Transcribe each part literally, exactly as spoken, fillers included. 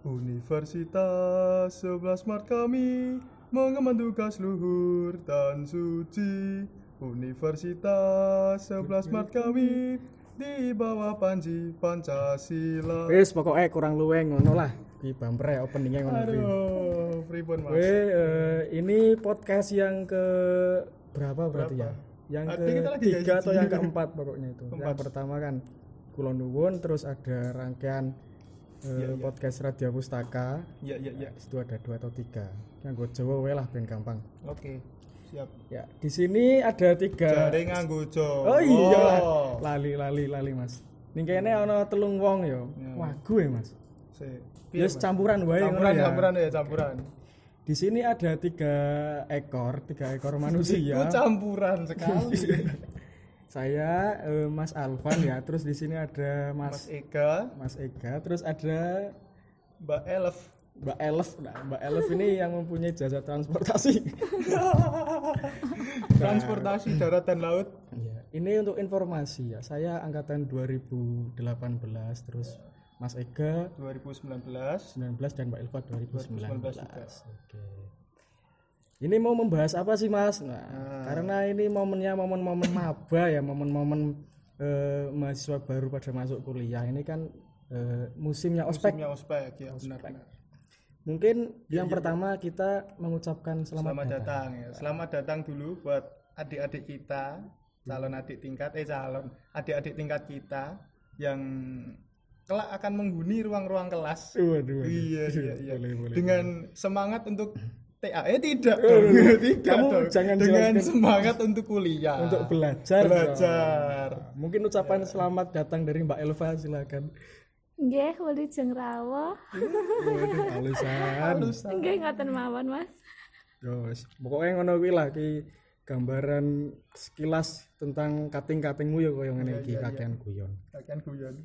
Universitas sebelas Maret kami mengemban tugas luhur dan suci. Universitas sebelas Maret kami di bawah panji Pancasila. Wis pokoke kurang luwih ngono lah. Ki bampre openingnya ngono kuwi. Aduh, pripun Mas? Weh, uh, ini podcast yang ke berapa berarti Berapa? ya? Yang Artinya kita lagi ketiga gaji. atau yang keempat pokoknya itu. Keempat. Yang pertama kan Kula Nuwun, terus ada rangkaian uh, Ya, ya. podcast Radio Pustaka. Ya, ya, ya. Itu ada dua atau tiga. Yang gue Jawa wae lah ben gampang. Oke, siap. Ya, di sini ada tiga. Jare nganggo Jawa. Oh iya lah. Lali lali lali Mas. Ning kene ana telung wong ya. Ya. Wagu ya Mas. Sik. Ya Mas? campuran wae ngono Campuran, ya. campuran ya, campuran. Di sini ada tiga ekor, tiga ekor manusia. Itu campuran sekali. Saya eh, Mas Alvan ya, terus di sini ada Mas Mas Ega, Mas Ega, terus ada Mbak Elf. Mbak Elf. Nah, Mbak Elf ini yang mempunyai jasa transportasi. Transportasi darat dan laut. Ya, ini untuk informasi ya. Saya angkatan dua ribu delapan belas, terus Mas Ega dua ribu sembilan belas. sembilan belas dan Mbak Elva dua ribu sembilan belas. juga. Oke. Ini mau membahas apa sih Mas? Nah, Nah. karena ini momennya momen-momen maba ya, momen-momen eh, mahasiswa baru pada masuk kuliah. Ini kan eh, musimnya ospek. Musimnya ospek ya, benar-benar. Mungkin yang pertama kita mengucapkan selamat, Selamat datang ya. Selamat datang dulu buat adik-adik kita, calon adik tingkat eh calon adik-adik tingkat kita yang kelak akan menghuni ruang-ruang kelas. Waduh, waduh. Iya, iya, iya. Boleh, boleh, Dengan semangat untuk T A eh tidak Oh, dong. tidak kamu dong. jangan Dengan jelaskan. semangat untuk kuliah. Untuk belajar. Belajar. Mungkin ucapan selamat datang dari Mbak Elva, silakan. Nggih, wilujeng rawuh. Waduh, halusan. Halusan. Nggih ngoten mawon, Mas. Terus pokoknya ngono kuwi lah ki gambaran sekilas tentang kating-katingmu ya koyo ngene Iya, iki iya, iya. kakean guyon. Kakean guyon.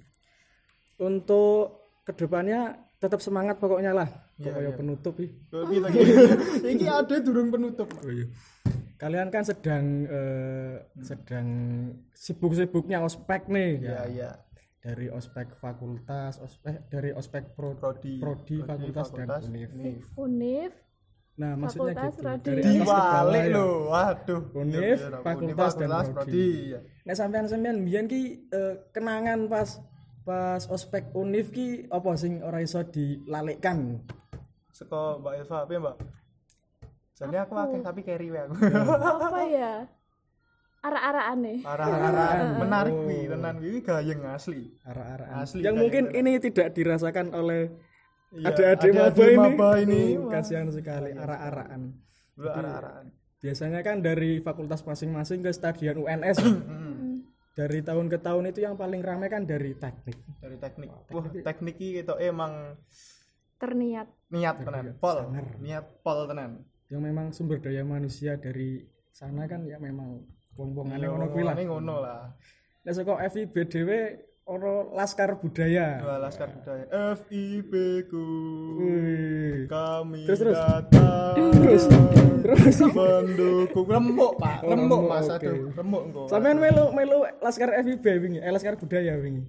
Untuk kedepannya tetap semangat pokoknya lah. Iya, Koyo iya. penutup iki. Oh, Kita iki ada durung penutup. Oh iya. Kalian kan sedang eh, sedang sibuk-sibuknya ospek nih Iya, ya. iya. Dari ospek fakultas, ospek dari ospek pro, Prodi, prodi, fakultas, dan univ. univ. Univ, Nah, maksudnya Fakultas, gitu. prodi. Dari atas ke bawah Diwalik ya. lho, waduh. Univ, Iya, iya, fakultas, dan fakultas, prodi. iya. Nek sampean-sampean mbiyen ki eh, kenangan pas pas ospek univ ki apa sing ora iso dilalekkan? Seko Mbak Eva, piye Mbak? Jane aku akeh tapi carry wae aku. apa ya? Ara-araane. Arah-arahan menarik Oh. wi, tenan wi gayeng asli. Ara-araan. Asli, Yang kayak mungkin gitu. ini tidak dirasakan oleh Iya, adik-adik maba adik-adik ini. maba ini. Uh, Wah. kasihan sekali ara-araan. Lu arah-arahan. Biasanya kan dari fakultas masing-masing ke stadion U N S. Dari tahun ke tahun itu yang paling ramai kan dari teknik. Dari teknik. Wah, teknik iki ketok emang Terniat. niat tenan, pol. Sangar. Niat pol tenan. Yang memang sumber daya manusia dari sana kan ya memang wong-wongane Iya, ngono kuwi lah. ngomongane ngono lah. Nek saka F I B dhewe ono Laskar Budaya. Dua laskar budaya F I B ku. Wih. Kami Terus, terus. datang. Terus, terus. mendukung remuk, Pak. Oh, Remuk, remuk, Mas. oke. Aduh, remuk engko. Sampeyan melu melu Laskar F I B wingi, eh Laskar Budaya wingi.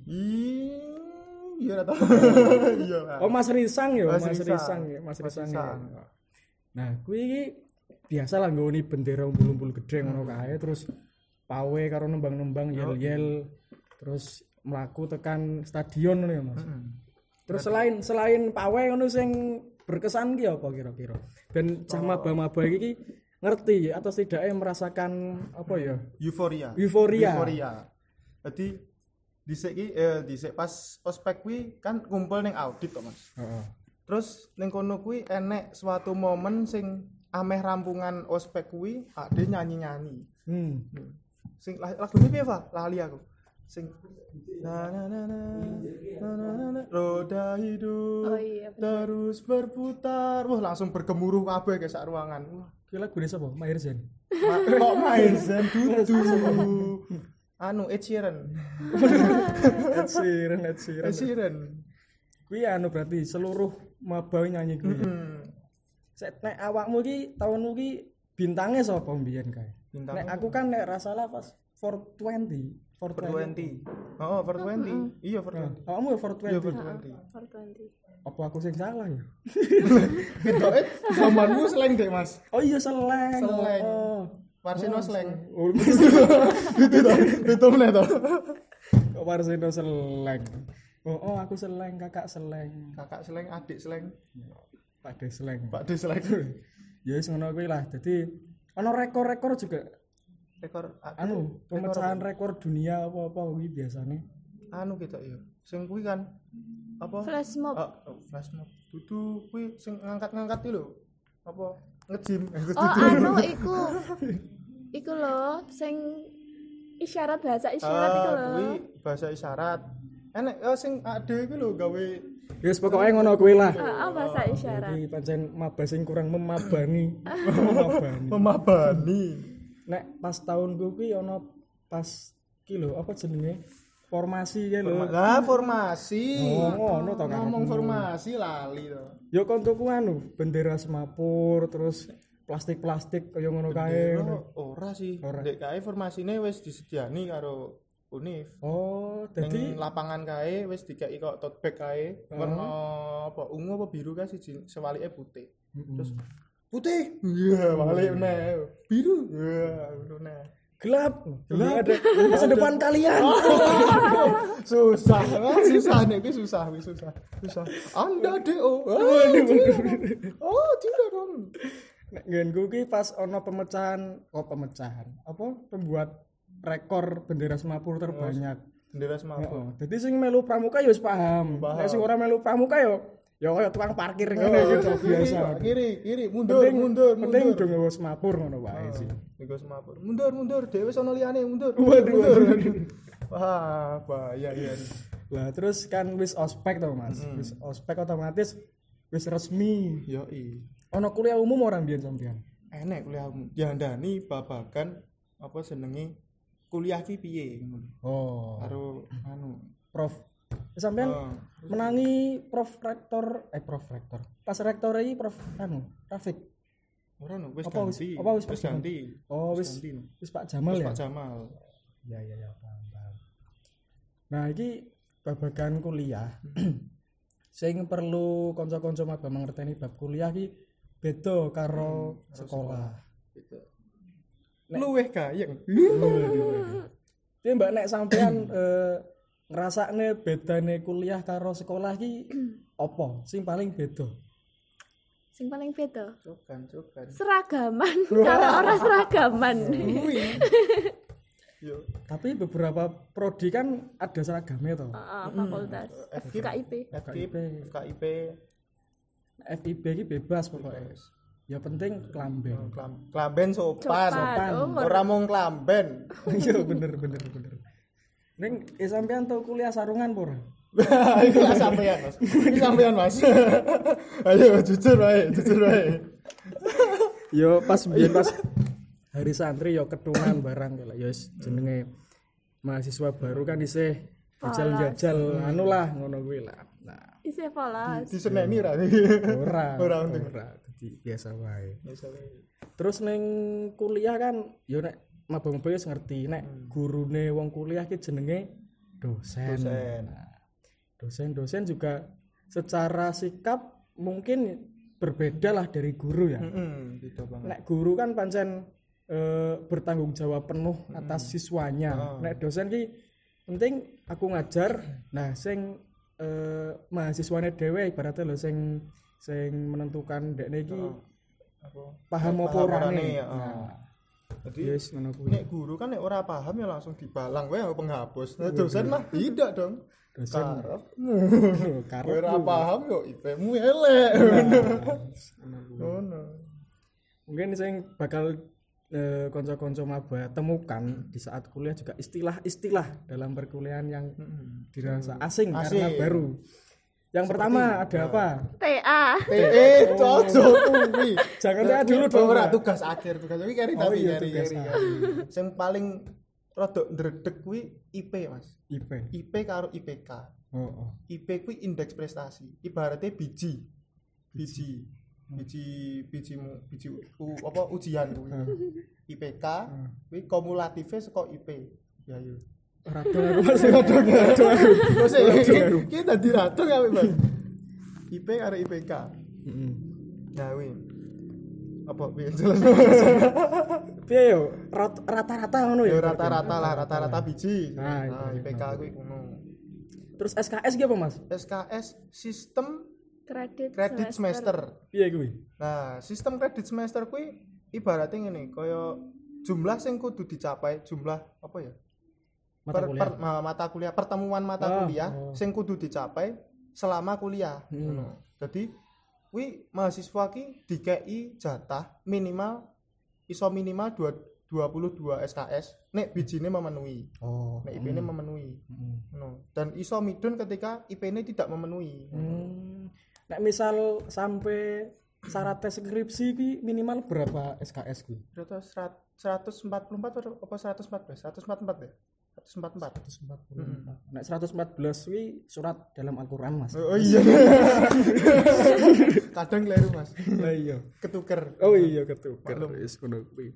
Iya, ora tau. Iya, Pak. Oh Mas Risang ya, Mas Mas, Risang. Risang ya, Mas Mas Risang. Risang. Ya. Nah, kuwi iki biasa lah nggone bendera umbul-umbul gede ngono kae terus pawe karo nembang-nembang yel-yel terus mlaku tekan stadion ngono ya, Mas. Terus selain selain pawe ngono sing berkesan ki apa kira-kira? Ben cah maba-maba iki ngerti atau setidaknya merasakan apa ya? Euforia. Euforia. Euforia. Jadi dhisik ki eh dhisik pas ospek kuwi kan kumpul ning audit kok, Mas. Heeh. Terus ning kono kuwi enek suatu momen sing ameh rampungan ospek kuwi ade nyanyi-nyanyi. Hmm. Sing lagune piye, Pak? Lali aku. Sing na na na na na na na, na roda hidup Oh iya, bener. terus berputar. Wah, langsung bergemuruh kabeh ke sak ruangan. Wah, Ki lagu desa apa? Maher Zen. ma- kok main Zen dudu. Anu Ed Sheeran. Ed Sheeran, Ed Sheeran. Ed Sheeran. Kuwi anu berarti seluruh maba nyanyi kuwi. Hmm. Sek nek awakmu ki tahunmu ki bintangnya sapa mbiyen kae? Bintangnya Nek aku kan nek ra salah pas four twenty. four four twenty. Oh, four twenty. Iya, four twenty. Kamu ya four Iya, twenty. four twenty. four twenty. Apa aku sing salah ya? Ketoke zamanmu slang deh, Mas. Oh iya seleng. Seleng. Oh. Warsino slang. Oh, Itu to, itu meneh to. kok Warsino seleng. Oh, oh aku seleng, kakak seleng. Kakak slang, adik slang, Pak De seleng. Pak De slang. Ya wis ngono kuwi lah. Dadi ana rekor-rekor juga Rekor anu pemecahan rekor dunia apa-apa kuwi biasane. anu kita ya. Sing kuwi kan apa? Flash mob. Ah, oh, flash mob. Dudu kuwi sing ngangkat-ngangkat iki lho. Apa? Nge-gym. Oh, anu iku. Iku lho sing isyarat bahasa isyarat iku lho. Kuwi bahasa isyarat. Enek oh, sing ade iki lho gawe Wis pokoke ngono kuwi lah. Heeh, bahasa isyarat. Jadi pancen maba sing kurang memabani. memabani. memabani. Nek pas tahun gue kuwi ana pas ki lho apa jenenge? Formasi ya lho. Lah formasi. Oh, ngono to kan. Ngomong formasi lali to. Ya koncoku anu bendera semapur terus plastik-plastik kaya ngono kae. Bendera ora sih. Ndek kae formasine wis disediani karo Unif. Oh, Dadi dadi lapangan kae wis dikeki kok tote bag kae warna apa ungu apa biru kae siji sewalike putih. Terus putih. Iya, balik meneh. Biru. Iya, ngono nah. gelap. Gelap ada masa depan kalian. Susah, susah nih, ini susah, ini susah, susah. Anda D O. Oh, tidak dong. Nek nggenku ki pas ana pemecahan, oh pemecahan. Apa pembuat rekor bendera semapur terbanyak. Bendera semapur. Heeh. Dadi sing melu pramuka ya wis paham. Nek sing ora melu pramuka ya ya kaya tukang parkir ngene gitu biasa. Kiri, kiri, mundur, Penting, mundur, penting mundur. do nggawa semapur ngono wae sih. Iku semapur. Mundur, mundur, dhewe sono liyane, mundur. Waduh, mundur. Wah, bahaya ya. Lah terus kan wis ospek to Mas. Wis ospek otomatis wis resmi. Yoi. Ana kuliah umum orang biyen sampean. Enek kuliahmu. Diandani babagan apa jenenge kuliah ki piye ngono. Oh, Karo anu Prof. Sampean Oh. menangi Prof Rektor eh Prof Rektor. Pas rektor iki Prof anu, Rafiq. Ora no, wis Apa wis- ganti. apa wis wis ganti. Oh, wis ganti. no. wis Pak Jamal Wis ya. Pak Jamal. Ya ya ya, paham, paham. Nah, iki babagan kuliah. Sing perlu kanca-kanca maba mangerteni bab kuliah iki beda karo sekolah. Gitu. Luweh gayeng. Tapi Mbak nek sampean eh, ngrasakne bedane kuliah karo sekolah iki apa? Sing paling beda. Sing paling beda Cokan, cokan. seragaman cara orang seragaman. Yo, Tapi beberapa prodi kan ada seragamnya toh. Heeh, fakultas F K I P. F K I P, F K I P, F I B iki bebas pokoknya. Ya penting klamben. klam- klamben sopan. Sopan. Oh, Ora mung klamben. Iya bener bener bener. Ning eh, sampean tau kuliah sarungan pura? Iku lah sampean, Mas. Iki sampean, Mas. Ayo jujur wae, jujur wae. Yo pas biyen pas hari santri yo ketungan barang kayak ya wis jenenge mahasiswa baru kan isih jajal-jajal anu lah ngono kuwi lah. Nah, Isi polos. Diseneni ra. ora Ora, ora untung. dadi biasa wae. Biasa wae. Terus ning kuliah kan yo nek maba-maba wis ngerti nek gurune wong kuliah ki jenenge dosen. Dosen. Nah, dosen-dosen juga secara sikap mungkin berbeda lah dari guru ya. Heeh, beda banget. Nek guru kan pancen eh, bertanggung jawab penuh atas siswanya. Nek dosen ki penting aku ngajar, nah sing eh, mahasiswane dhewe ibaratnya lho sing sing menentukan dekne iki Apa? paham apa Paham orane. orane, ya. Nah, Jadi yes ngono kuwi. nek guru kan nek ora paham ya langsung dibalang wae sama penghapus. Nah, dosen mah tidak dong. Dosen Karepmu. karep Ora paham yo I P-mu elek. Ngono. mungkin sing bakal eh, kanca-kanca maba temukan di saat kuliah juga istilah-istilah dalam perkuliahan yang dirasa asing, karena Asing. baru. Yang pertama ada apa? T A. Eh, cocok kuwi. Jangan TA dulu dong. Ora Mbak. tugas akhir tugas iki kari Oh tapi iya, kari tugas kari. akhir. kari. Sing paling rada ndredeg kuwi I P, Mas. I P. I P karo I P K. Oh, oh. I P kuwi indeks prestasi. Ibaratnya biji. Biji. Biji biji biji u, apa ujian kuwi. I P K kuwi kumulatifnya saka I P. Ya yo. Radong aku Mas. Radong radong aku. Terus iki dadi radong ya Mas. I P karo I P K. Heeh. Nah kuwi. Apa piye jelas. Piye yo rat- rata-rata ngono Ya ya. rata-rata lah, rata-rata biji. Nah, Nah, iya, I P K kuwi ngono. Terus S K S ki apa Mas? S K S sistem Kredit, kredit semester. Piye kuwi? Nah, sistem kredit semester kuwi ibaratnya ngene, kaya jumlah sing kudu dicapai, jumlah apa ya? Mata Per- kuliah. per- ma- mata kuliah, pertemuan mata Oh, kuliah oh. sing kudu dicapai selama kuliah. Hmm. Ngono. Dadi kuwi mahasiswa ki dikei jatah minimal iso minimal dua dua puluh dua S K S nek bijine memenuhi. Oh. Nek I P-ne memenuhi. Heeh. No. Dan iso midun ketika I P-ne tidak memenuhi. Hmm. Nek misal sampai syarat tes skripsi ki minimal berapa S K S ku? Berapa seratus empat puluh empat atau apa seratus empat belas? seratus empat puluh empat ya? seratus empat puluh empat. seratus empat puluh empat. Nek seratus empat belas kuwi surat dalam Al-Qur'an Mas. Oh iya. Kadang keliru Mas. Lah iya. Ketuker. Oh iya ketuker. Maklum. Wis ngono kuwi.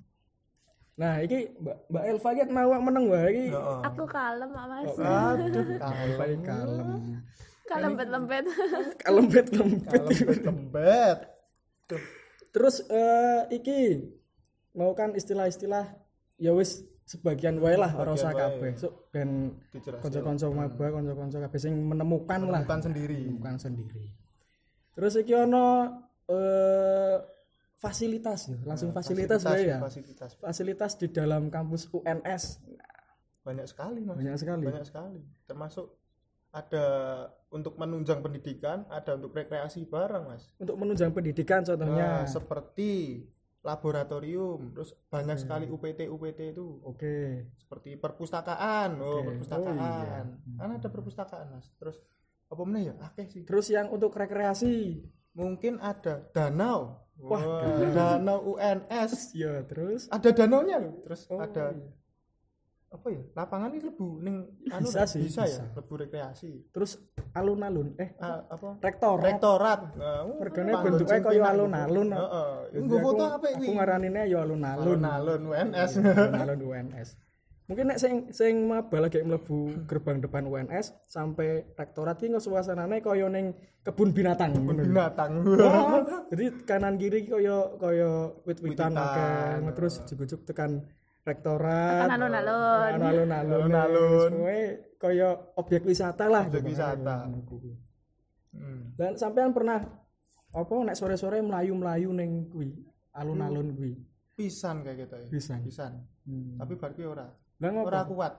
Nah, iki Mbak Mbak Elva ki mau meneng wae iki. Heeh. Aku kalem Mak Mas. Aduh, Elva iki kalem. Kalembet-lembet. Kalembet-lembet. Lembet. Tuh. Terus eh iki mau kan istilah-istilah ya wis sebagian wae lah ora usah Sebagian kabeh. wae. Sok ben Dijelaskan. kanca-kanca maba, kanca-kanca kabeh sing menemukan lah, Bukan sendiri. menemukan sendiri. Terus iki ono eh fasilitas ya, langsung fasilitas wae ya. Fasilitas. Fasilitas di dalam kampus U N S Banyak sekali Mas. banyak sekali. Banyak sekali. Termasuk ada untuk menunjang pendidikan, ada untuk rekreasi bareng Mas. Untuk menunjang pendidikan Nah, contohnya. seperti laboratorium, terus banyak sekali U P T U P T itu. Oke. Seperti perpustakaan. Oh, Oke. perpustakaan. Oh, iya. Kan ada perpustakaan Mas. Terus apa meneh ya? Akeh sih. Terus yang untuk rekreasi. Mungkin ada danau. Wah, Wah, danau U N S. Ya, terus Ada danaunya loh. Terus Oh, ada iya. apa ya? Lapangan ini lebu ning anu Bisa dah, sih, bisa, bisa. ya, lebu rekreasi. terus alun-alun eh Ah, apa? rektor. Rektorat. Nah, Regane panggon bentuknya sing kaya penak, alun-alun. Heeh. Jadi Nggo foto aku- apa iki? Aku ngaranine ya alun-alun. Alun-alun U N S. Alun-alun U N S. Mungkin nek sing sing maba lagi mlebu gerbang depan U N S sampai rektorat iki suasanane kaya ning kebun binatang. ngono. Binatang. Wah, jadi kanan kiri kaya kaya wit-witan Wit-witan. akeh. Terus jujuk tekan rektorat. Tekan alun-alun. Alun-alun. Alun-alun. Semuanya kaya objek wisata lah. Objek gitu. wisata. Kuwi. Hmm. Dan sampean pernah apa nek sore-sore melayu-melayu ning kuwi alun-alun kuwi. Pisan kayak gitu ya. Pisan. Pisan. Hmm. Tapi bar kuwi ora. Lah ngopo? Ora kuat.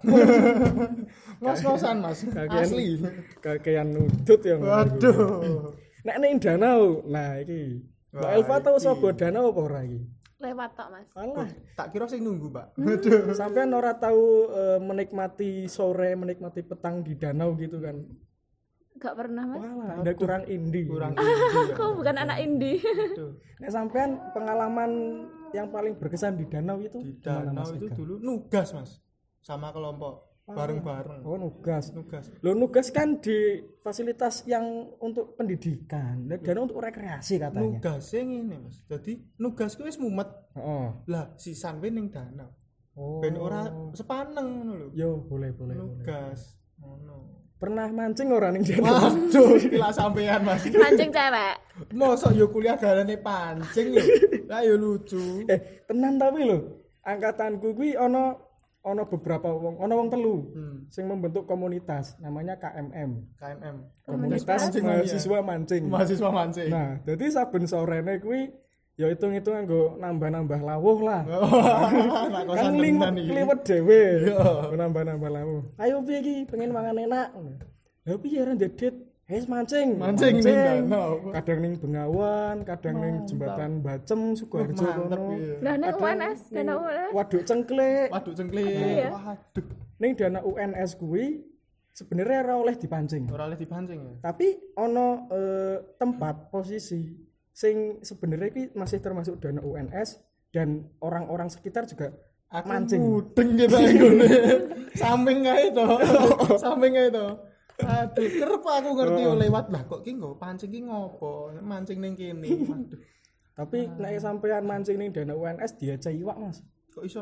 Ngos-ngosan Mas. Kakean- Asli. Kakean nudut ya. ngono kuwi. Waduh. Nek ning danau. Nah iki. Mbak Wah, Elva tau iki. sapa danau apa ora iki? Lewat tok Mas. Alah, Tak kira sing nunggu, Mbak. Hmm. sampean ora tahu eh, menikmati sore, menikmati petang di danau gitu kan. Gak pernah Mas. Walah, Anda kurang indie. Kurang indie ya. Aku bukan anak indie. Aduh. Nek sampean pengalaman yang paling berkesan di danau itu Di gimana, danau Mas itu Ega? dulu nugas, Mas. Sama kelompok bareng-bareng. Oh, nugas. Nugas. Lo nugas kan di fasilitas yang untuk pendidikan, dan danau untuk rekreasi katanya. Nugas sing ngene, Mas. Jadi nugas ku wis mumet. Oh. Lah sisan we ning danau. Oh. Ben ora sepaneng ngono lho. Yo, boleh, boleh, boleh. Nugas. Ngono. Pernah mancing ora ning danau? Waduh, gila sampean, Mas. Mancing cewek. Mosok yo kuliah garane pancing lho. Lah yo lucu. Eh, tenan tapi lho. Angkatanku kuwi ana ana beberapa wong, ana wong telu Hmm. sing membentuk komunitas namanya K M M. K M M. Komunitas Mancing mahasiswa mancing. Mahasiswa mancing. Nah, jadi saben sorene kuwi ya hitung-hitung nggo nambah-nambah lawuh lah. Anak Kan kosan liwet tenan iki. liwet dhewe. Iya. Nambah-nambah lawuh. Ayo piye iki pengen mangan enak. Lah piye ora ndedet? Hes mancing. Mancing ning danau. Kadang ning Bengawan, kadang ning jembatan Bacem Sukoharjo Mantep kono. iki. Lah nek U N S, Ning danau U N S. Waduk Cengklik. Waduk cengklik. Iya. Waduh. Ning dana U N S kuwi sebenarnya ora oleh dipancing. Ora oleh dipancing ya. Tapi ono eh, tempat posisi sing sebenarnya iki masih termasuk dana U N S dan orang-orang sekitar juga Aku mancing. mudeng gitu ngene. Samping kae to. Samping kae to. Aduh, kerep aku ngerti yo lewat lah kok ki nggo pancing ki ngopo? Mancing ning kene. Waduh. Tapi nek sampean mancing ning dana U N S diajak iwak, Mas. Kok iso?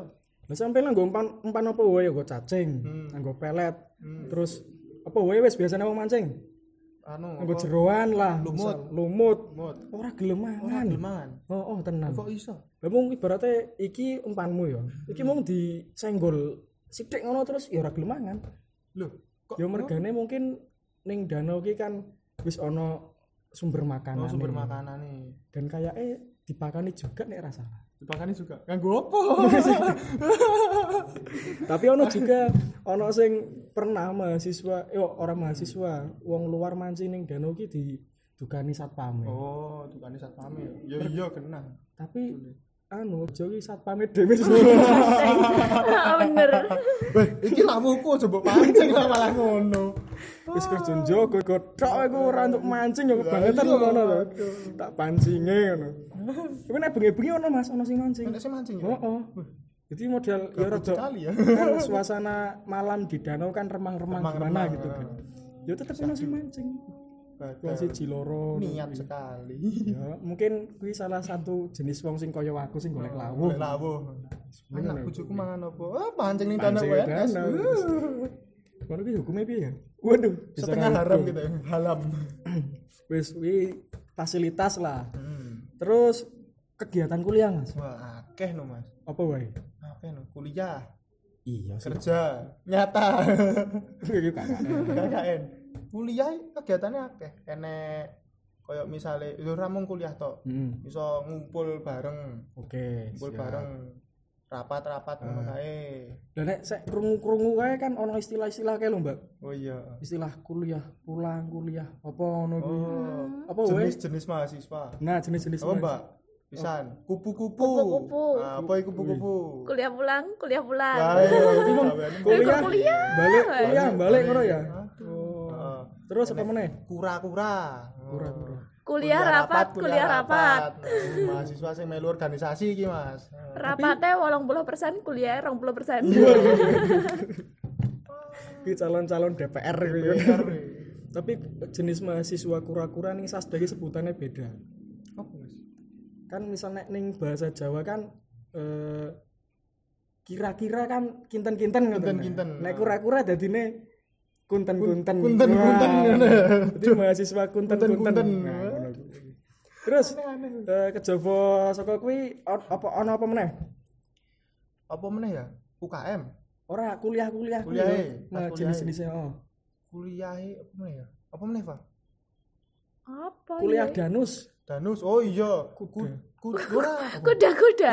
Lah sampe lah nggo umpan umpan apa wae nggo cacing, Hmm. nggo pelet. Hmm. Terus apa wae wis biasane wong mancing. Anu Nggo apa? jeroan lah, Lumut. misal, lumut. Mut. Ora gelem Ora mangan. gelem mangan. Oh, oh tenan. Kok iso? Lah mung ibaratnya iki umpanmu ya. Iki mung disenggol sithik ngono terus ya ora gelem mangan. Loh, kok Ya mergane mungkin ning danau iki kan wis ana sumber makanan. oh, sumber makanane. Dan kayak eh dipakani juga nek ra salah. Dipakani juga. Kanggo apa? Tapi ono juga ono sing pernah mahasiswa, yo orang mahasiswa, wong luar mancing ning danau iki didukani satpame. Oh, tukane satpame. Ya iya kena. Tapi anu aja iki satpame dhewe. Ah, bener. Weh, iki lawuhku coba pancing lah malah ngono. Wis kerja njogo godhok iku ora untuk mancing yo kebangetan ngono to. Tak pancinge ngono. Tapi nek bengi-bengi ono Mas, ono sing mancing. Nek sing mancing ya. Heeh. Jadi model ya rada Sekali ya. kan suasana malam di danau kan remang-remang gimana Remang-remang, gitu kan. Ya tetep ono sing mancing. Wong Badal. siji loro. Niat sekali. Ya, mungkin kuwi salah satu jenis wong sing kaya aku sing golek lawuh. Golek lawuh. Bener, Anak ya. bojoku mangan apa? Ah, pancing ning tanah Pancing W ning N S. danau. Ngono ki hukumnya piye ya? Waduh, bisa Setengah ngaku. haram gitu, halam. Wis kuwi fasilitas lah. Hmm. Terus kegiatan kuliah, Mas. Wah, akeh no, Mas. Apa wae? Akeh no, kuliah, Iya sih. kerja, nyata. Iki K K N. K K N. Kuliah kegiatannya akeh. Enek koyo misale yo ora mung kuliah tok. Heeh. Iso ngumpul bareng, Oke. ngumpul siap. bareng. Rapat-rapat ngono kae. Lah nek sek krungu-krungu kae kan ono istilah-istilah kae lho, Mbak. Oh iya. Istilah kuliah, pulang kuliah, apa ngono kuwi. Oh, Apa wae? jenis-jenis mahasiswa. Nah, jenis-jenis Apa, Mas. Mbak? Pisan, kupu-kupu. Kupu-kupu. Nah, apa iku kupu-kupu? Kuliah pulang, kuliah pulang. Lah, iya, Berarti mong gaweane kuliah, kuliah. balik kuliah, balik ngono ya. Aduh. Heeh. Terus apa meneh? Kura-kura. Kura-kura. Kuliah rapat, kuliah rapat. Nah, mahasiswa sing melu organisasi iki, Mas. Rapatnya wolong puluh persen, kuliah rong puluh persen. Ki calon-calon D P R gitu. Bener. Tapi jenis mahasiswa kura-kura ning Sasda iki sebutannya beda. Apa, Mas? Kan misalnya ning bahasa Jawa kan eh, kira-kira kan kinten-kinten ngoten. Kinten-kinten. Nek kura-kura dadine kunten-kunten. Kunten-kunten. Wah, Jadi mahasiswa kunten-kunten. Kunten-kunten. Nah, ngono kuwi. Terus eh, kejaba saka kuwi o- apa ana apa meneh? Apa meneh ya? U K M. Ora kuliah-kuliah kuwi Kuliahe, lho. pas Nah, kuliahe. jenis-jenisnya oh. Kuliahe apa meneh ya? Apa meneh, Pak? Apa Kuliah ya? danus. Danus. Oh iya, kuda. Kuda. Kuda-kuda.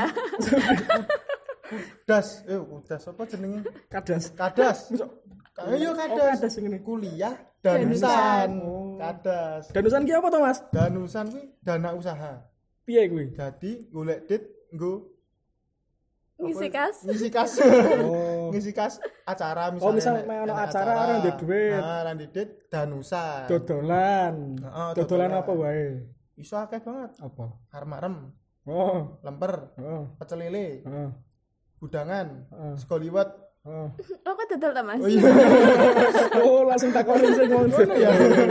Kudas. Eh, kudas apa jenenge? Kadas. Kadas. Ayo Oh, kadas. kadas sing ngene. Kuliah danusan. Oh. Kadas. Danusan ki apa to, Mas? Danusan kuwi dana usaha. Piye kuwi? Jadi golek dit nggo Ngisi kas. ngisi kas. Oh. Ngisi kas acara misalnya. Oh, misal nek- mek ono nek acara ora ndek duit. Nah, ora ndek duit danusan. Dodolan. Heeh, Dodolan dodolan. apa wae? Iso akeh banget. Apa? Armarem, Oh, lemper, oh, pecel lele, oh, budangan, oh, sego liwet. oh. Oh, kok dodol ta, Mas? Oh iya. Oh, langsung takoni sing ngono ya.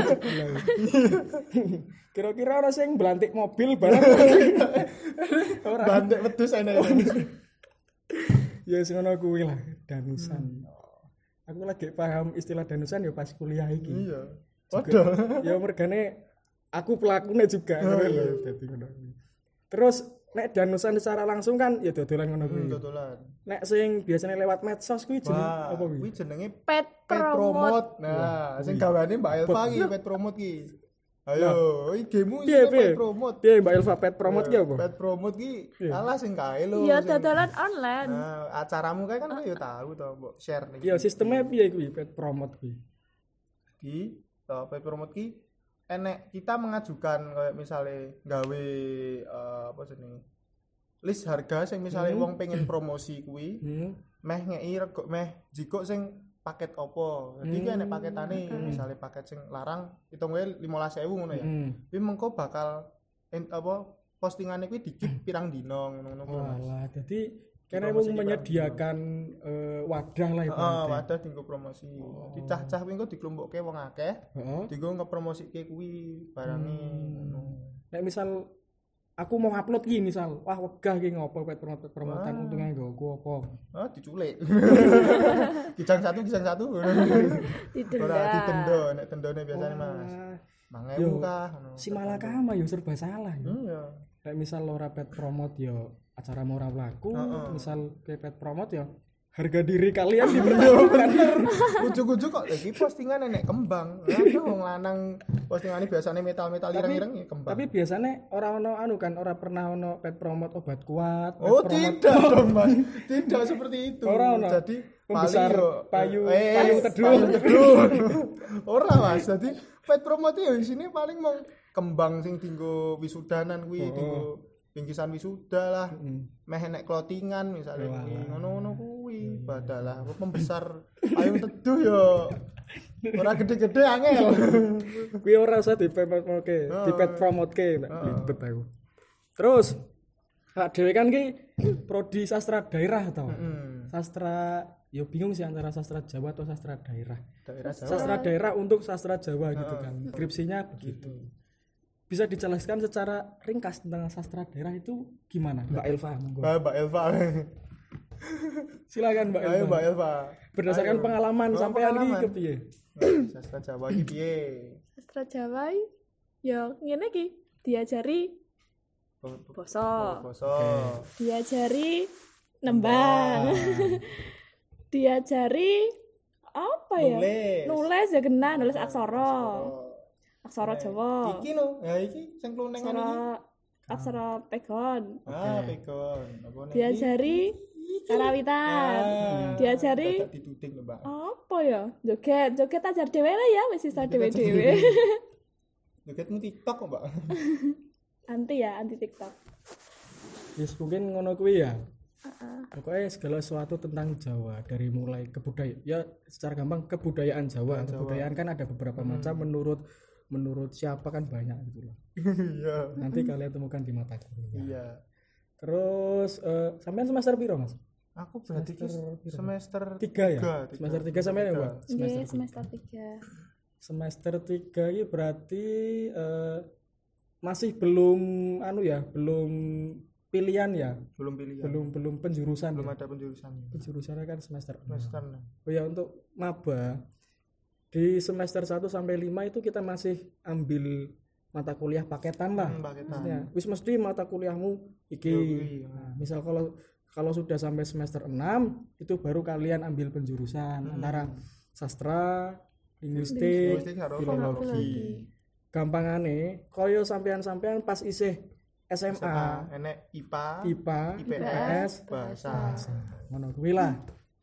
Kira-kira ana sing belantik mobil barang. Ora. Bandek wedhus enek. Ya sing ngono kuwi lah, danusan. Aku lagi paham istilah danusan ya pas kuliah iki. Iya. Padha. Ya mergane aku pelakunya juga Oh, ngono iya. lho, dadi ngono kuwi. Terus nek danusan secara langsung kan ya dodolan ngono kuwi. Hmm, dodolan. Nek sing biasanya lewat medsos kuwi jeneng Wah, apa kuwi? kuwi jenenge Pet pet promote. promote. Nah, sing gawane Mbak Elva ki pet promote ki. Ayo, iki game Piye iki piye? pet promote. Piye Mbak Elva pet promote ki apa? Pet promote ki Iya. alah sing kae lho. Iya, sing- dodolan online. Nah, acaramu kae kan kowe ya tahu to, mbok share nih. Ya sistemnya piye kuwi pet promote kuwi? Ki, to pet promote ki enek kita mengajukan kayak misalnya gawe eh, apa jenenge? List harga sing misalnya wong pengen promosi kuwi, Hmm. meh ngei rego meh jiko sing paket opo. Jadi ki enek paketane, misalnya paket sing larang hitung wae lima belas ribu ngono ya. Hmm. Kuwi mengko bakal en, apa postingane kuwi dikit pirang dino ngono-ngono kuwi, Mas. Walah, jadi karena Promosi mau ki menyediakan eh, wadah lah Heeh, ibaratnya. wadah dienggo promosi. Dicah-cah kuwi engko diklompokke wong akeh, Heeh. dienggo ngepromosike kuwi barange ngono. Nek misal aku mau upload ki misal, wah wegah ki ngopo pet promote promotan untungnya nggo aku apa. Ah diculik. Kijang satu kijang satu. Didenda. Ora ditendo, nek tendone biasane Mas. lima ribu kah ngono. Si malakama yo serba salah yo. Iya. Kayak misal ora pet promote yo acara ora laku, misal ke pet promote yo harga diri kalian dipertaruhkan. Ujug-ujug kok lagi postingan nek kembang. Lah wong lanang postingane biasane metal-metal ireng-ireng ya kembang. Tapi biasanya orang ono anu kan ora pernah ono pet promote obat kuat. Oh pet tidak dong Mas. Tidak seperti itu. Ora ono. Jadi pembesar paling yo payu eh, payu teduh. payu teduh. Ora Mas. Jadi pet promote yo isine paling mau kembang sing dinggo wisudanan kuwi Oh. dinggo bingkisan wisuda lah. Mm. Meh nek clothingan misalnya Wah. kuwi ngono-ngono kuwi badalah pembesar payung teduh yo ora gede-gede angel. Kuwi ora usah di promote, di pet promote ke, ribet aku. Terus hak dhewe kan ki prodi sastra daerah to. Hmm. Sastra yo bingung sih antara sastra Jawa atau sastra daerah. Daerah Jawa. Sastra daerah untuk sastra Jawa gitu kan. Skripsinya begitu. Bisa dijelaskan secara ringkas tentang sastra daerah itu gimana, Mbak Elva? Monggo. Mbak Mbak Elva. Silakan Mbak Elva. Ayo Mbak Elva. Berdasarkan Ayo. pengalaman Oh, sampean iki pengalaman. kepiye? Sastra Jawa iki piye? Sastra Jawa ya ngene iki diajari basa, Basa. diajari nembang, diajari apa ya? Nulis. Nulis ya kena, nulis aksara. Aksara Jawa. Iki no, ya iki sing klunengan iki. Aksara aksara pegon. Ah, pegon. Apa nih? Diajari karawitan. Ah, Diajari dadak dituting lho, Mbak. apa ya? Joget, joget ajar dhewe lah ya, wis iso dhewe-dhewe. Jogetmu TikTok kok, Mbak. Anti ya, anti TikTok. Yes, mungkin ngono kuwi ya. Heeh. Pokoknya segala sesuatu tentang Jawa dari mulai kebudayaan ya secara gampang kebudayaan Jawa. Kebudayaan kan ada beberapa macam menurut menurut siapa kan banyak gitu loh. Iya. Nanti kalian temukan di mata kuliah. Iya. Terus eh, sampean semester piro, Mas? Aku berarti ki Semester semester tiga ya? tiga, tiga. Semester tiga sampean ya, Mbak? Nggih, semester tiga. Semester tiga ini berarti eh, masih belum anu ya, belum pilihan ya, Belum pilihan. belum belum penjurusan. Belum ya? ada penjurusannya. Penjurusannya kan semester enam. Semester. Oh ya, untuk maba di semester satu sampai lima itu kita masih ambil mata kuliah paketan lah. Hmm, paketan. Maksudnya, wis mesti mata kuliahmu iki. Yo, kuwi, ya. Nah, misal kalau kalau sudah sampai semester enam itu baru kalian ambil penjurusan Hmm. antara sastra, linguistik, Linguistik karo filologi. Filologi. Gampangane koyo sampean-sampean pas isih S M S M A, A, enek I P A, I P A, I P I P S, S, bahasa. ngono kuwi lah.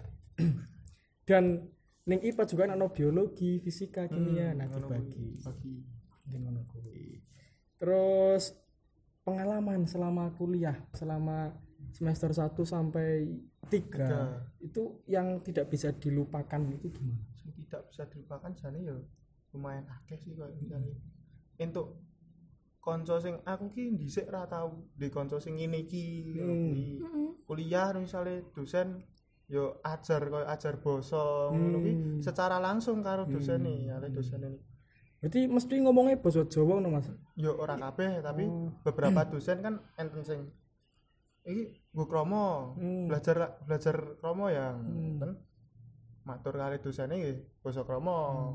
Dan ning I P A juga ana biologi, fisika, kimia, nah Ngono dibagi. kuwi, bagi. Mungkin ngono kuwi. Terus pengalaman selama kuliah, selama semester satu sampai tiga itu yang tidak bisa dilupakan itu gimana? Sing tidak bisa dilupakan jane ya lumayan akeh sih koyo misalnya. Entuk kanca sing aku ki dhisik ra tau di kanca sing ngene iki. Hmm. Di kuliah misalnya dosen yo ajar koyo ajar basa ngono kuwi Hmm. secara langsung karo dosene, ale dosene Berarti mesti ngomongnya basa Jawa ngono Mas. yo ora kabeh tapi Oh. beberapa dosen kan enten sing iki nggo kromo Hmm. belajar belajar kromo ya Hmm. kan matur kali dosene nggih basa kromo.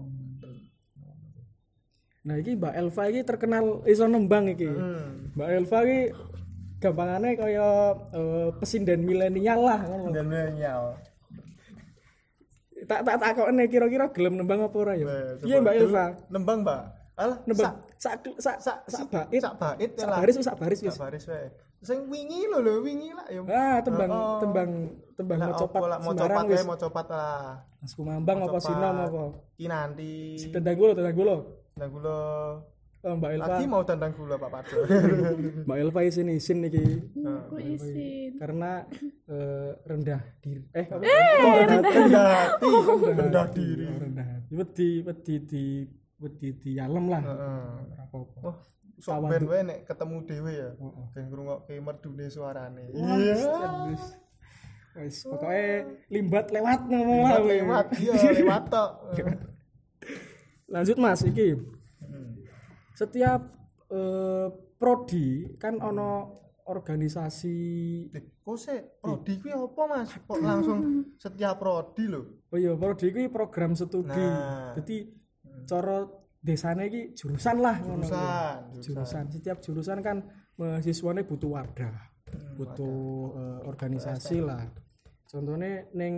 Nah, iki Mbak Elva iki terkenal iso nembang iki. Hmm. Mbak Elva iki gampangane kaya eh, pesinden milenial lah ngono. Dan milenial. Tak tak takokne kira-kira gelem nembang apa ora ya? Nah, Iya coba Mbak dulu. Elva. Nembang, Mbak. Alah, Nembang sak sak sak sak sak sak bait. sak bait Sak lah. baris wis sak baris wis. Sak baris wae. Sing wingi lho lho wingi lah ya. Ah, tembang Oh. tembang tembang Lah, mau copat apa lah, mau sembarang copat wis. wae, mau copat lah. Mas Kumambang apa Copat. Sinom apa? Ki nanti. Tendang gulo, tendang gulo. Tendang gula. Oh, Mbak Elva. Lagi mau tendang gula Pak Parjo. Mbak Elva isin isin iki Aku isin. karena eh, rendah diri. Eh, apa? Rendah hati, rendah diri. rendah hati. Wedi wedi di wedi di alam lah. Heeh. Ora apa-apa. Wah, sok ben wae nek ketemu dhewe ya. Ben ngrungokke merdune suarane. Iya. Wis pokoke limbat lewat ngono lah. Lewat lewat, iya lewat tok. Lanjut Mas iki. Hmm. Setiap eh, prodi kan ono organisasi. Eh, kok sik prodi kuwi apa Mas? Kok langsung setiap prodi lho. Oh iya, prodi kuwi program studi. Nah. Jadi cara desane iki jurusan lah ngono. Jurusan, Jurusan. jurusan. Setiap jurusan kan mahasiswane butuh wadah. Hmm, butuh eh, organisasi lah. Contohnya ning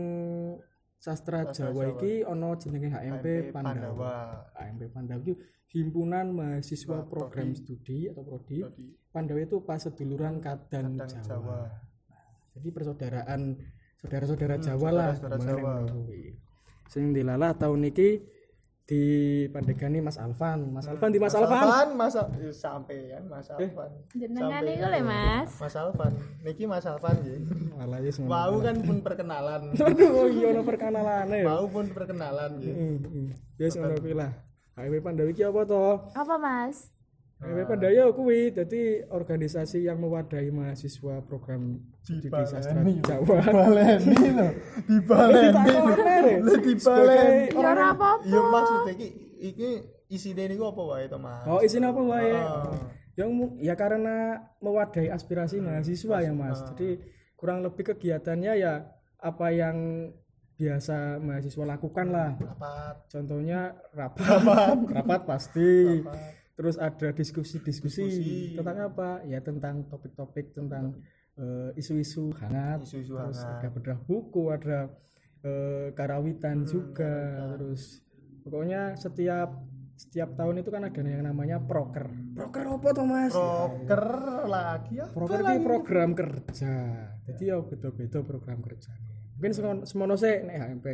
sastra Sastra Jawa Jawa. iki ono jenenge H M P H M P Pandawa. Pandawa. H M P Pandawa itu himpunan mahasiswa Wah, program prodi. studi atau prodi. Prodi. Pandawa itu pas seduluran Kadang, Kadang Jawa. Jawa. Jadi persaudaraan saudara-saudara Hmm, Jawa lah saudara-saudara kemarin Jawa. ngono kuwi. Sing dilalah tahun niki di pandegani Mas Alvan. Mas Alvan di Mas, Alvan. Mas Al- eh, sampean Mas Alvan. Jenengan Sampean. iku lho Mas. Mas Alvan. Niki Mas Alvan nggih. Malah yes ngono. Mau kan pun perkenalan. Aduh, oh iya ono perkenalane. Mau pun perkenalan nggih. Heeh, heeh. Yes ngono kuwi lah. H M P Pandawa iki apa to? Apa Mas? H M P Pandawa kuwi dadi organisasi yang mewadahi mahasiswa program studi sastra Dibaleni. Jawa. Baleni lho. Dibaleni. Lho dibaleni. Ya ora apa-apa. Ya maksudnya iki iki isine niku apa wae to Mas? Oh, isinya apa wae? Ah. Yang mu- ya karena mewadahi aspirasi mahasiswa ya Mas. Jadi kurang lebih kegiatannya ya apa yang biasa mahasiswa lakukan lah. Rapat. Contohnya rapat, rapat pasti. Rapat. Terus ada diskusi-diskusi Diskusi. tentang apa? Ya tentang topik-topik tentang eh, isu-isu hangat. Isu-isu Terus hangat. ada bedah buku, ada eh, karawitan juga. Terus pokoknya setiap setiap tahun itu kan ada yang namanya proker. Proker apa tuh Mas? Proker lagi ya. Proker itu program kerja. Jadi ya beda-beda program kerja. Mungkin semono semono sik nek H M P.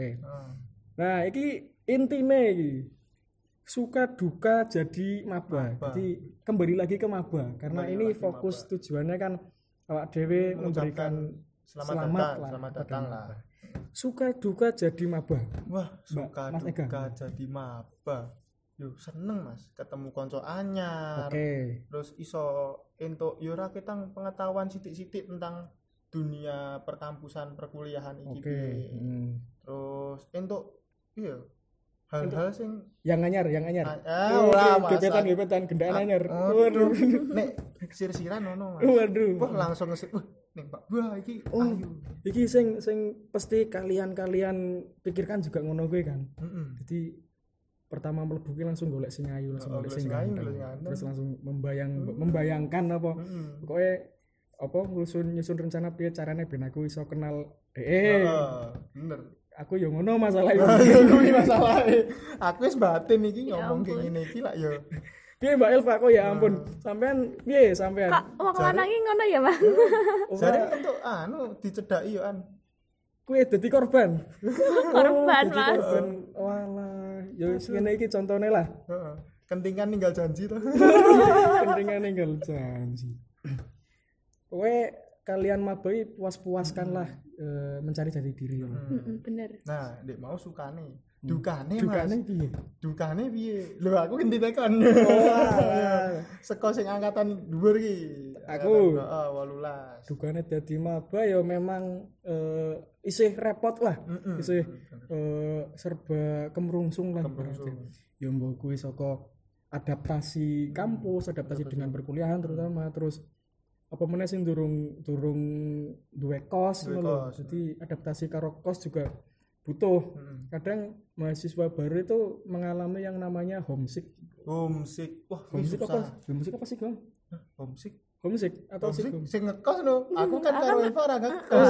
Nah, iki intine iki. Suka duka jadi maba. Maba. Jadi kembali lagi ke maba karena Kembali ini lagi fokus tujuannya kan awak dhewe memberikan Selamat, selamat datang, lah selamat kepada datang maba. lah. Suka duka jadi maba. Wah, suka Mas Ega. duka jadi maba. Yo seneng Mas, ketemu konco anyar. Oke. Terus iso entuk yo ora ketang pengetahuan sithik-sithik tentang dunia perkampusan perkuliahan iki Oke. piye. Hmm. Terus entuk iya hal-hal sing Yang anyar, yang anyar. ah Oh, ora oke, gebetan, Mas. gebetan, gendaan anyar. Oh, Waduh. nek sir-siran ono Mas. Waduh. Wah langsung ngesip. Wah, ning Pak. Wah iki Oh, ayu. iki sing sing pasti kalian-kalian pikirkan juga ngono kuwi kan. Heeh. Jadi pertama mlebu ki langsung golek sing ayu, langsung Oh, golek golek sing sing ayu, ganteng. golek sing ganteng. Terus langsung membayang membayangkan apa. Heeh. Pokoknya apa nyusun nyusun rencana piye carane ben aku iso kenal dhek. Heeh, bener. Aku yo ngono masalah iki. Kuwi masalahe. Aku wis batin iki Ya ngomong ampun. kayak ngene iki lak yo. Piye Mbak Elva kok ya ampun. Sampean piye sampean? Kak, wong lanang iki ngono ya, Mas? Jare entuk anu dicedhaki yo an. Kuwi dadi korban. Korban, dadi Mas. korban. Walah, yo wis ngene iki contone lah. Heeh. Kentingan ninggal janji to. Kentingan ninggal janji. Kowe kalian mabai puas-puaskanlah eh, mencari jati diri. Heeh, bener. Nah, Dek mau sukane. Dukane Dukane Mas. piye? Dukane piye? Lho aku ganti tekan. Seko sing angkatan dhuwur iki. Aku. Heeh, wolulas. Dukane dadi maba ya memang eh, isih repot lah. Mm-mm. Isih eh, serba kemrungsung lah. Kemrungsung. ibaratnya. Ya mbok kuwi saka adaptasi kampus, adaptasi dengan perkuliahan terutama terus apa meneh sing durung durung duwe kos Duwe ngono lho. kos. Jadi adaptasi karo kos juga butuh. Mm. Kadang mahasiswa baru itu mengalami yang namanya homesick. Homesick. Wah, kuwi Homesick susah. apa? Homesick apa sih, Gong? Homesick. Homesick atau sih? Homesick sing ngekos no. Aku kan karo Eva ora ngekos.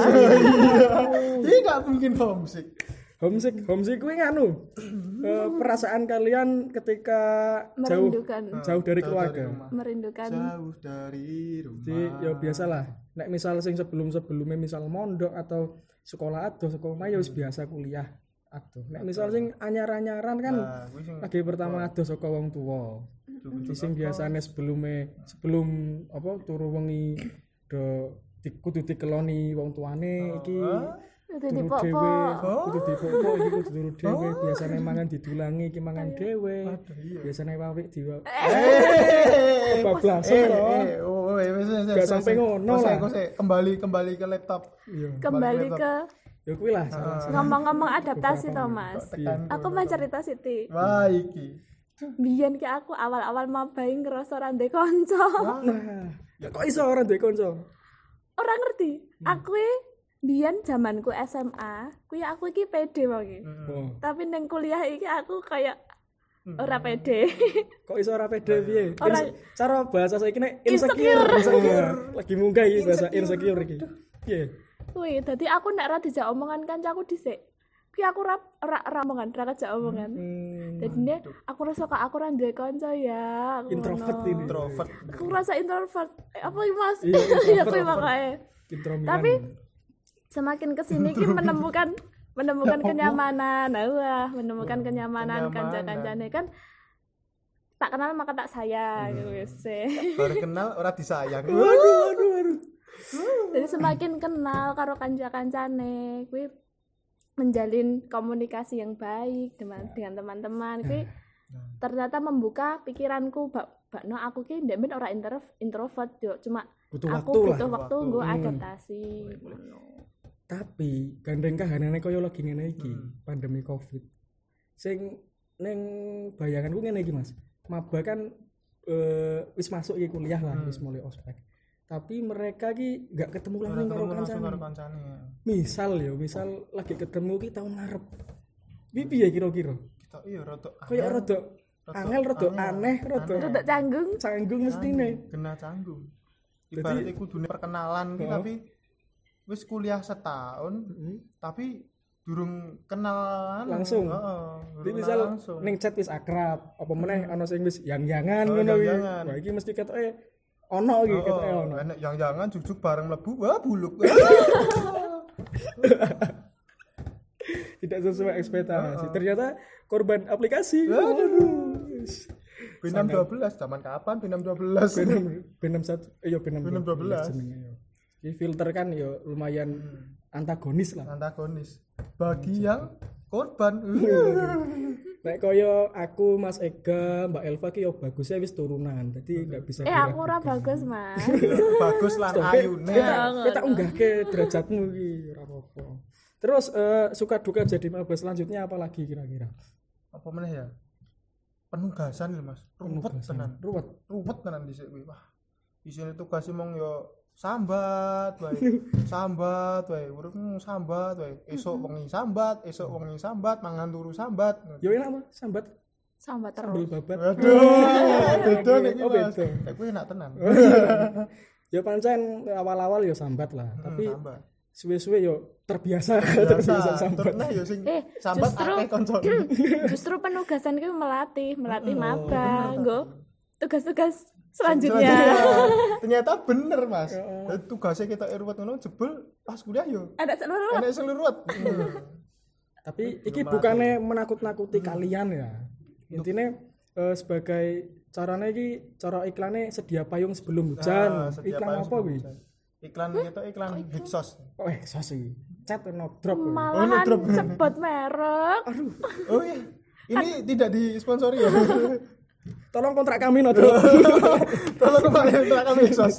Tidak mungkin homesick. Homesick, homesick kuwi nganu. eh, perasaan kalian ketika jauh Merindukan, jauh dari Jauh keluarga. rumah. merindukan. Jauh dari rumah. Jadi ya biasalah. Nek misal sing sebelum-sebelumnya misal mondok atau sekolah ado, sekolah ya wis biasa kuliah ado. Nek misal sing anyar-anyaran kan Nah, kuwi sing lagi pertama ado saka wong tuwa. Jadi sing biasane sebelumnya sebelum apa turu wengi do di- kudu dikeloni wong tuane iki Itu turu dipok-pok. dhewe, kudu dipok-pok iki kudu turu dhewe, biasane mangan didulangi iki mangan dhewe. Biasane wawik diwa. Eh, Bablasan eh, to. eh, oh, eh, wis, wis, Gak wis, sampai wis. ngono Kok lah. sik, kok sik, kembali kembali ke laptop. Iya. Kembali Balik ke Ya kuwi lah salah satu. ngomong-ngomong adaptasi toh, Mas. Iya. Aku mau cerita Siti. Wah, iki. Biyen ki aku awal-awal mabai ngerasa ra ndek kanca. Nah, ya kok iso ora duwe kanca? Ora ngerti. Aku e biyen zamanku S M A, kuwi aku iki pede wae. Oh. Tapi ning kuliah iki aku kayak ora pede. Kok iso ora pede piye? Ora- Ins- Cara bahasa saiki nek insecure, Insecure. insecure. Lagi munggah iki bahasa insecure iki. Piye? Kuwi dadi aku nek ra dijak omongan kancaku dhisik. Kuwi aku ra ora ra omongan, ra kejak omongan. Hmm, Jadi ne aku rasa kok aku ra duwe kanca ya. aku introvert ngono. ini. Introvert. Aku rasa introvert. Eh, apa iki Mas? Iya, introvert. Iya kuwi makanya. Intromilan. Tapi semakin kesini ki menemukan menemukan kenyamanan. Nah, wah, menemukan kenyamanan Kenyamanan. kanca-kancane kan tak kenal maka tak sayang gitu wis. Baru kenal ora disayang. waduh, waduh, waduh. Jadi semakin kenal karo kanca-kancane kuwi menjalin komunikasi yang baik dengan dengan teman-teman kuwi ternyata membuka pikiranku bak bakno aku ki ndek men ora intro, introvert yo cuma Butuh aku waktu lah. butuh waktu waktu. nggo Hmm. adaptasi ngono. Tapi gandeng kahanane kaya lagi ngene iki, Hmm. pandemi Covid. Sing ning bayanganku ngene iki, Mas. Maba kan eh, wis masuk iki kuliah lah, Hmm. wis mulai ospek. Tapi mereka ki enggak ketemu Ora langsung karo ketemu langsung karo kancane. kancane. Misal ya, misal lagi ketemu ki tahun ngarep. Piye piye kira-kira? Kita iya rada Kaya rada angel, rada aneh, rada Rada canggung. canggung mestine. kena canggung. Jadi- Ibaratnya kudune perkenalan ki Oh. tapi wis kuliah setahun Heeh. tapi durung kenalan Langsung. Heeh. Jadi durung misal langsung. ning chat wis akrab, apa meneh ana sing wis yang-yangan Oh, ngono kuwi. yang-yangan. Wah, iki mesti ketoke ono iki Oh, ketoke oh, ono. enak yang jangan jujuk bareng mlebu wah buluk. Tidak sesuai ekspektasi. Ternyata korban aplikasi. Waduh. Wis. B enam dua belas zaman kapan B enam dua belas? B enam B enam satu eh yo B enam B enam dua belas. jenenge yo. Iki filter kan yo lumayan antagonis lah. Antagonis bagi yang korban. Nek kaya aku Mas Ega, Mbak Elva ki yo bagusnya wis turunan. Jadi enggak bisa Eh aku ora bagus, Mas. Bagus lah ayune. Kita kita unggahke derajatmu iki ora apa-apa. Terus eh, suka duka jadi maba selanjutnya apa lagi kira-kira? Apa meneh ya? Penugasan lho Mas. Ruwet Penugasan. tenan. Ruwet. Ruwet tenan dhisik kuwi. Wah. Isine tugas mong yo sambat wae. Sambat wae, uripmu sambat wae. Esuk wengi sambat, esuk wengi sambat, mangan turu sambat. Yo enak mah sambat Sambat sambil terus. babat. Aduh, beda nek Oh, iki Mas. beda. Nek kuwi enak tenan. Ya pancen awal-awal yo sambat lah, Hmm, tapi sambat. suwe-suwe yo terbiasa terbiasa Biasa, sambat. terus yo sing Eh, sambat justru- akeh koncone. Justru penugasan itu melatih, melatih Oh, maba, bener, nggo tugas-tugas Selanjutnya. selanjutnya. Ternyata bener Mas. Jadi tugasnya kita ruwet ngono jebul pas kuliah yo. Ada seluruh Enak sing ruwet. Tapi Belum iki melatih. bukannya menakut-nakuti kalian ya. Intinya eh, sebagai caranya iki cara iklannya sedia payung sebelum hujan. Nah, sedia Iklan payung apa sebelum kuwi? hujan. Iklan kita iklan Hiksos. Oh, eh sos iki. Chat no drop. kuwi. malahan drop. sebut merek. Oh iya. Ini tidak disponsori ya. Tolong kontrak kami no drop. Tolong kembali untuk kami Hiksos.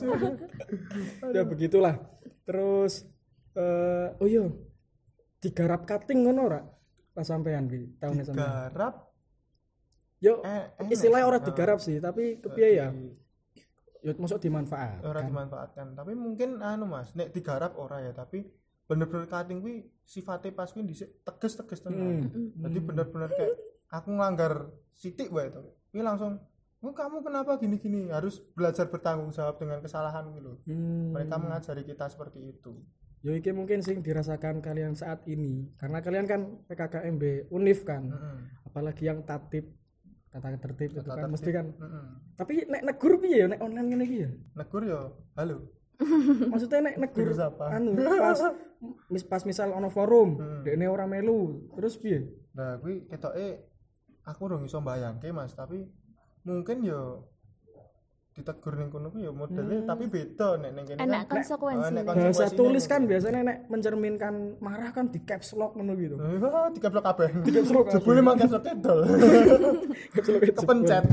Ya begitulah. Terus eh oh iya. Digarap cutting ngono ora? Pas sampean ki tahun S M A. Garap Yo eh, enak. istilahnya ora Ah. digarap sih, tapi kepiye ya? Yo masuk dimanfaat. ora dimanfaatkan. Tapi mungkin anu Mas, nek digarap ora ya, tapi bener-bener cutting kuwi sifatnya pas kuwi dhisik tegas-tegas tenan. Jadi bener-bener kayak aku nglanggar sithik wae to. Kuwi langsung, "Oh, kamu kenapa gini-gini?" Harus belajar bertanggung jawab dengan kesalahan gitu. Hmm. Mereka mengajari kita seperti itu. Yo iki mungkin sing dirasakan kalian saat ini karena kalian kan P K K M B Unif kan. Heeh. Apalagi yang tatip tata tertib itu Tata kan tertib. mesti kan. Heeh. Tapi nek negur piye ya nek online ngene iki ya? Negur yo, halo. Maksudnya nek negur Negur siapa? anu pas mis, pas misal ono forum, Hmm. dekne ora melu, terus piye? Nah, kuwi ketoke aku urung iso mbayangke Mas, tapi mungkin yo ditegur ning kono kuwi yo modele tapi beda nek ning kene Enak kan. konsekuensi. Oh, enak nih. Bahasa konsekuensinya tulis nih. kan biasanya nek mencerminkan marah kan di caps lock ngono gitu. Wah, dikeplok kabeh. Dikeplok kabeh. Jebule mang keplok kedol. Caps lock itu. Kepencet.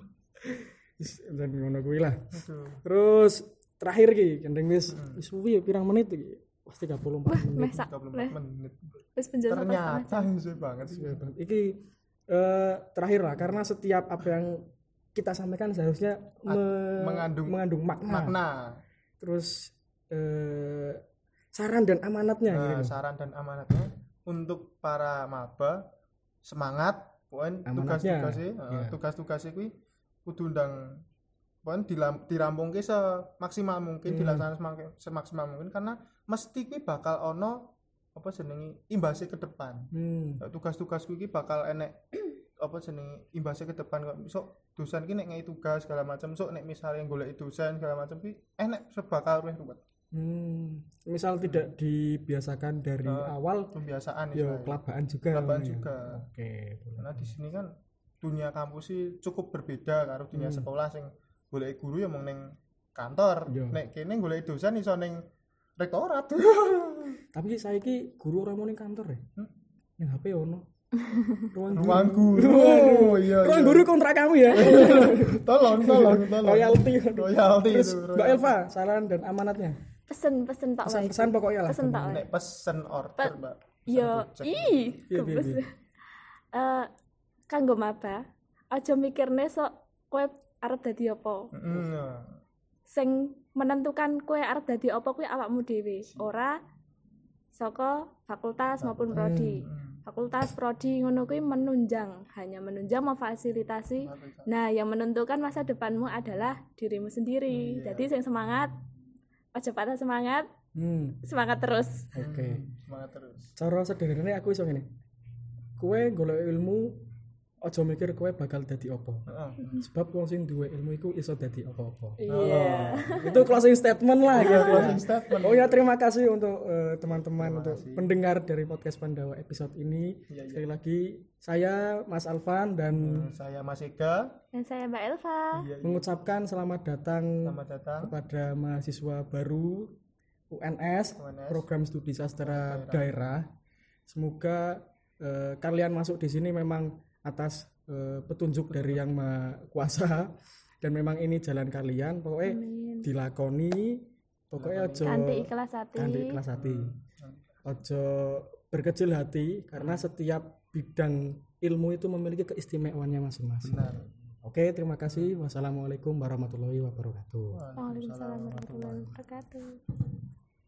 Wis, dan ngono kuwi lah. Aduh. Terus terakhir ki gendeng wis wis suwi ya pirang menit iki? Pas tiga puluh empat Meh menit. sak tiga puluh meh empat menit. wis penjelasan Ternyata sesuai banget sih. Iki eh, terakhir lah, karena setiap apa yang kita sampaikan seharusnya me- mengandung mengandung makna. makna. Terus eh, saran dan amanatnya Nah, gitu. saran dan amanatnya untuk para maba semangat poin Amanatnya, tugas-tugasnya iya. uh, tugas-tugasnya kuwi kudu ndang poin dilam, dirampungke semaksimal mungkin, Hmm. dilaksanakan semak- semaksimal mungkin karena mesti kuwi bakal ono apa jenenge imbasnya ke depan. Hmm. Nah, tugas-tugas kuwi bakal enek apa jenenge imbasnya ke depan kok besok dosen ki nek ngei tugas segala macam sok nek misalnya golek dosen segala macam ki enek sebakal weh ruwet. Hmm. Misal tidak dibiasakan dari Uh, awal, Pembiasaan ya istilahnya. kelabaan juga. Kelabaan ya. juga. Oke. boleh. Karena di sini kan dunia kampus sih cukup berbeda karo dunia Hmm. sekolah sing golek guru ya mung ning kantor. Iya. Nek kene golek dosen iso ning rektorat. Tapi saiki guru ora mau ning kantor ya. Hmm? Ning H P ono. Ruang guru. Ruang guru. Waduh. Iya. Ruang iya. guru kontrak kamu ya. Tolong, tolong, tolong. Royalti. Royalti Terus itu. Mbak royalti. Elva, saran dan amanatnya. Pesen-pesen tak wae. Pesan-pesan pokoknya lah. Pesen tak wae. Nek pesen order, Pe- Mbak. Pesen Yo, gojek. ih, Iya, iya, gebes. iya. Eh, kanggo maba, aja mikirne sok kowe arep dadi apa. Mm, ya. Sing menentukan kowe arep dadi apa kuwi awakmu dhewe, ora saka fakultas maupun prodi. Hmm. Fakultas prodi ngono kuwi menunjang, hanya menunjang memfasilitasi. Nah, yang menentukan masa depanmu adalah dirimu sendiri. Iya. Jadi sing semangat, aja patah semangat, Hmm. semangat terus. Oke. Semangat terus. Cara sederhananya aku iso ngene. Kowe golek ilmu aja mikir kowe bakal dadi apa. Heeh. Sebab wong sing duwe ilmu iku iso dadi apa-apa. Iya. Itu closing statement lah gitu. Closing statement. Oh ya, terima kasih untuk eh, teman-teman, Terima untuk kasih. pendengar dari podcast Pandawa episode ini. Iya, iya. Sekali lagi saya Mas Alvan dan Saya Mas Ega. Dan saya Mbak Elva. Iya, iya. mengucapkan selamat datang Selamat datang. kepada mahasiswa baru U N S, U N S. Program Studi Sastra Daerah. Semoga eh, kalian masuk di sini memang atas eh, petunjuk dari Yang Maha Kuasa, dan memang ini jalan kalian. Pokoknya Amin. dilakoni, pokoknya aja Kanthi ikhlas hati. kanthi ikhlas hati. Ojo berkecil hati karena setiap bidang ilmu itu memiliki keistimewaannya masing-masing. Benar. Oke, terima kasih. Wassalamualaikum warahmatullahi wabarakatuh. Waalaikumsalam warahmatullahi wabarakatuh.